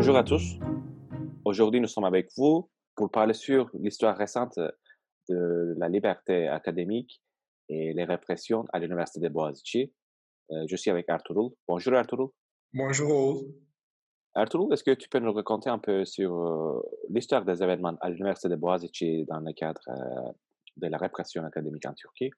Bonjour à tous. Aujourd'hui, nous sommes avec vous pour parler sur l'histoire récente de la liberté académique et les répressions à l'Université de Boğaziçi. Je suis avec Ertuğrul. Bonjour Ertuğrul. Bonjour Oğuz. Ertuğrul, est-ce que tu peux nous raconter un peu sur l'histoire des événements à l'Université de Boğaziçi dans le cadre de la répression académique en Turquie?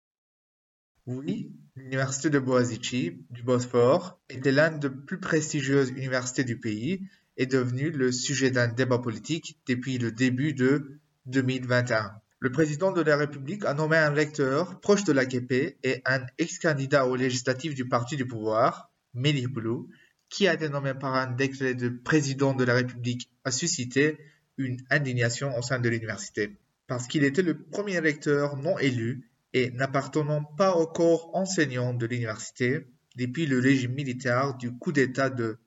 Oui, l'université de Boğaziçi du Bosphore était l'une des plus prestigieuses universités du pays et devenue le sujet d'un débat politique depuis le début de 2021. Le président de la République a nommé un recteur proche de l'AKP et un ex-candidat aux législatives du parti du pouvoir, Melih Bulu, qui a été nommé par un décret de président de la République, a suscité une indignation au sein de l'université. Parce qu'il était le premier recteur non élu et n'appartenant pas au corps enseignant de l'université depuis le régime militaire du coup d'État de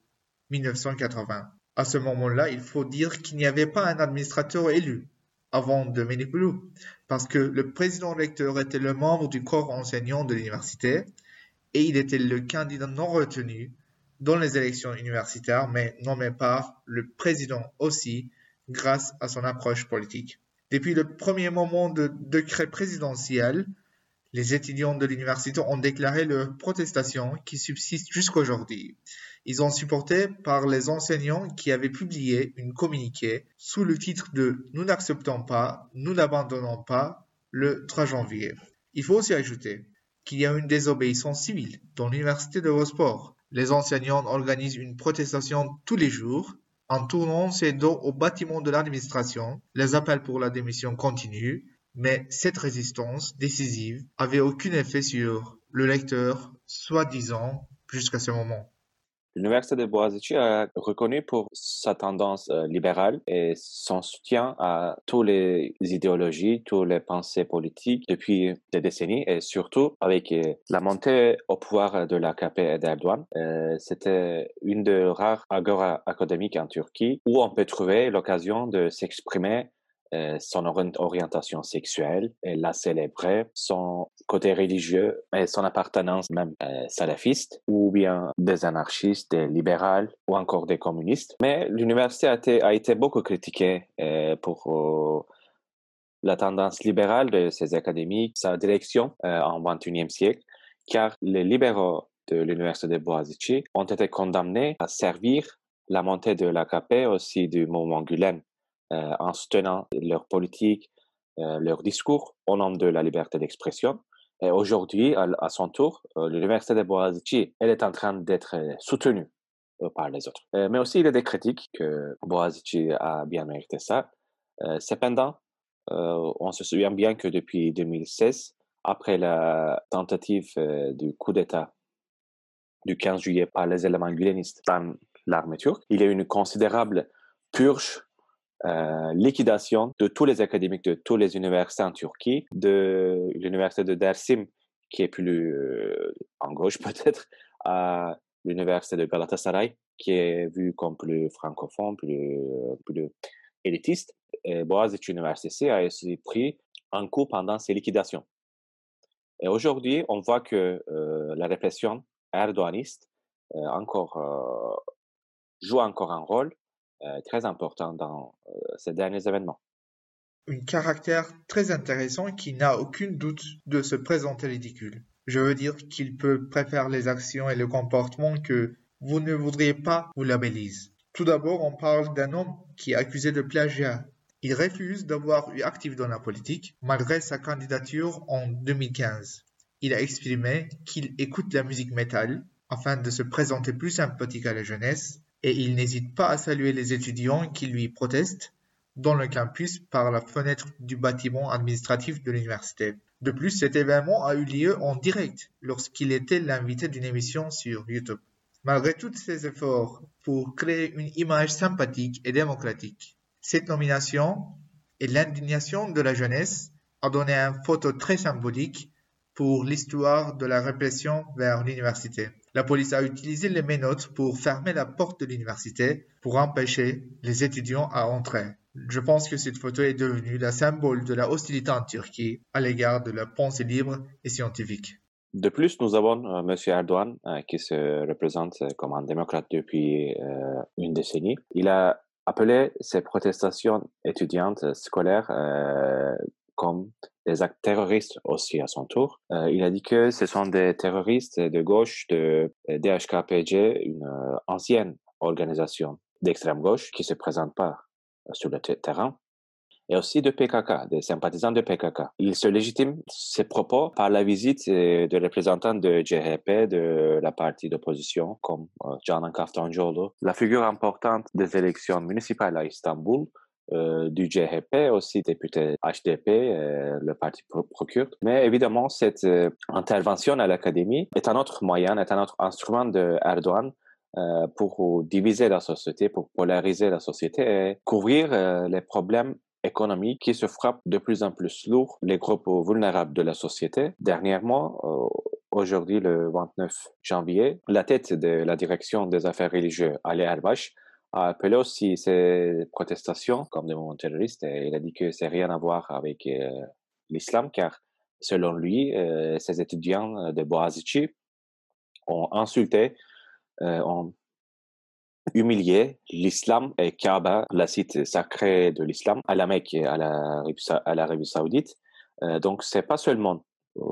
1980. À ce moment-là, il faut dire qu'il n'y avait pas un administrateur élu avant de Melih, parce que le président recteur était le membre du corps enseignant de l'université et il était le candidat non retenu dans les élections universitaires, mais nommé par le président aussi grâce à son approche politique. Depuis le premier moment de décret présidentiel, les étudiants de l'université ont déclaré leur protestation qui subsiste jusqu'aujourd'hui. Ils ont supporté par les enseignants qui avaient publié une communiqué sous le titre de « Nous n'acceptons pas, nous n'abandonnons pas » le 3 janvier. Il faut aussi ajouter qu'il y a une désobéissance civile dans l'université de Bosphore. Les enseignants organisent une protestation tous les jours en tournant ses dos au bâtiment de l'administration. Les appels pour la démission continuent, mais cette résistance décisive avait aucun effet sur le recteur, soi-disant, jusqu'à ce moment. L'Université de Boğaziçi est reconnue pour sa tendance libérale et son soutien à toutes les idéologies, toutes les pensées politiques depuis des décennies et surtout avec la montée au pouvoir de l'AKP et d'Erdogan. C'était une des rares agora académiques en Turquie où on peut trouver l'occasion de s'exprimer son orientation sexuelle et la célébrer, son côté religieux et son appartenance même salafiste, ou bien des anarchistes, des libéraux ou encore des communistes. Mais l'université a été beaucoup critiquée pour la tendance libérale de ses académiques, sa direction en XXIe siècle, car les libéraux de l'université de Boğaziçi ont été condamnés à servir la montée de l'AKP, aussi du mouvement Gülen, en soutenant leur politique, leur discours au nom de la liberté d'expression. Et aujourd'hui, à son tour, l'université de Boğaziçi, elle est en train d'être soutenue par les autres. Mais aussi, il y a des critiques que Boğaziçi a bien mérité ça. Cependant, on se souvient bien que depuis 2016, après la tentative du coup d'État du 15 juillet par les éléments gülenistes dans l'armée turque, il y a eu une considérable purge, liquidation de tous les académiques de toutes les universités en Turquie, de l'université de Dersim, qui est plus en gauche peut-être, à l'université de Galatasaray, qui est vue comme plus francophone, plus élitiste. Et Boğaziçi Üniversitesi a aussi pris un coup pendant ces liquidations. Et aujourd'hui, on voit que la répression erdoganiste joue encore un rôle très important dans ces derniers événements. Un caractère très intéressant qui n'a aucun doute de se présenter ridicule. Je veux dire qu'il peut préférer les actions et le comportement que vous ne voudriez pas vous labelliser. Tout d'abord, on parle d'un homme qui est accusé de plagiat. Il refuse d'avoir eu actif dans la politique malgré sa candidature en 2015. Il a exprimé qu'il écoute la musique métal afin de se présenter plus sympathique à la jeunesse et il n'hésite pas à saluer les étudiants qui lui protestent dans le campus par la fenêtre du bâtiment administratif de l'université. De plus, cet événement a eu lieu en direct lorsqu'il était l'invité d'une émission sur YouTube. Malgré tous ces efforts pour créer une image sympathique et démocratique, cette nomination et l'indignation de la jeunesse a donné une photo très symbolique pour l'histoire de la répression vers l'université. La police a utilisé les menottes pour fermer la porte de l'université pour empêcher les étudiants à entrer. Je pense que cette photo est devenue le symbole de la hostilité en Turquie à l'égard de la pensée libre et scientifique. De plus, nous avons M. Erdogan qui se représente comme un démocrate depuis une décennie. Il a appelé ces protestations étudiantes scolaires comme des actes terroristes aussi à son tour. Il a dit que ce sont des terroristes de gauche de DHKPC, une ancienne organisation d'extrême gauche qui se présente pas sur le terrain, et aussi de PKK, des sympathisants de PKK. Il se légitime ses propos par la visite de représentants de CHP, de la partie d'opposition, comme Canan Kaftancıoğlu, la figure importante des élections municipales à Istanbul, du CHP, aussi député HDP, le parti pro-kurde. Mais évidemment, cette intervention à l'académie est un autre moyen, est un autre instrument de Erdogan pour diviser la société, pour polariser la société et couvrir les problèmes économiques qui se frappent de plus en plus lourd les groupes vulnérables de la société. Dernièrement, aujourd'hui le 29 janvier, la tête de la direction des affaires religieuses, Ali Erbash, a appelé aussi ces protestations comme des mouvements terroristes et il a dit que c'est rien à voir avec l'islam car selon lui, ces étudiants de Boğaziçi ont insulté, ont humilié l'islam et Kaaba, la site sacrée de l'islam, à la Mecque et à l'Arabie Saoudite. Donc c'est pas seulement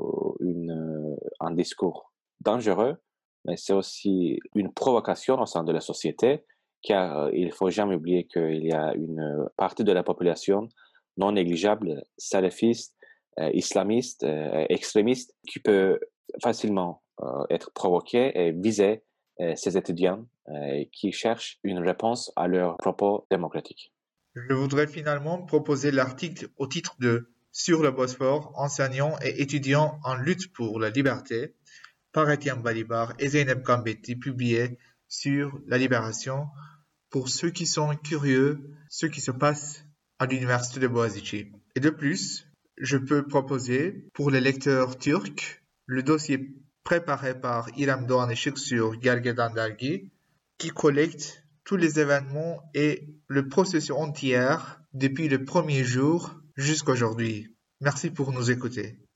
un discours dangereux, mais c'est aussi une provocation au sein de la société, car il faut jamais oublier qu'il y a une partie de la population non négligeable, salafiste, islamiste, extrémiste, qui peut facilement être provoquée et viser ces étudiants qui cherchent une réponse à leurs propos démocratiques. Je voudrais finalement proposer l'article au titre de Sur le Bosphore, enseignants et étudiants en lutte pour la liberté par Etienne Balibar et Zeynep Gambeti, publié sur la Libération pour ceux qui sont curieux, ce qui se passe à l'université de Boğaziçi. Et de plus, je peux proposer pour les lecteurs turcs le dossier préparé par İrem Doğan Işık sur Gergedan Dergi qui collecte tous les événements et le processus entier depuis le premier jour jusqu'à aujourd'hui. Merci pour nous écouter.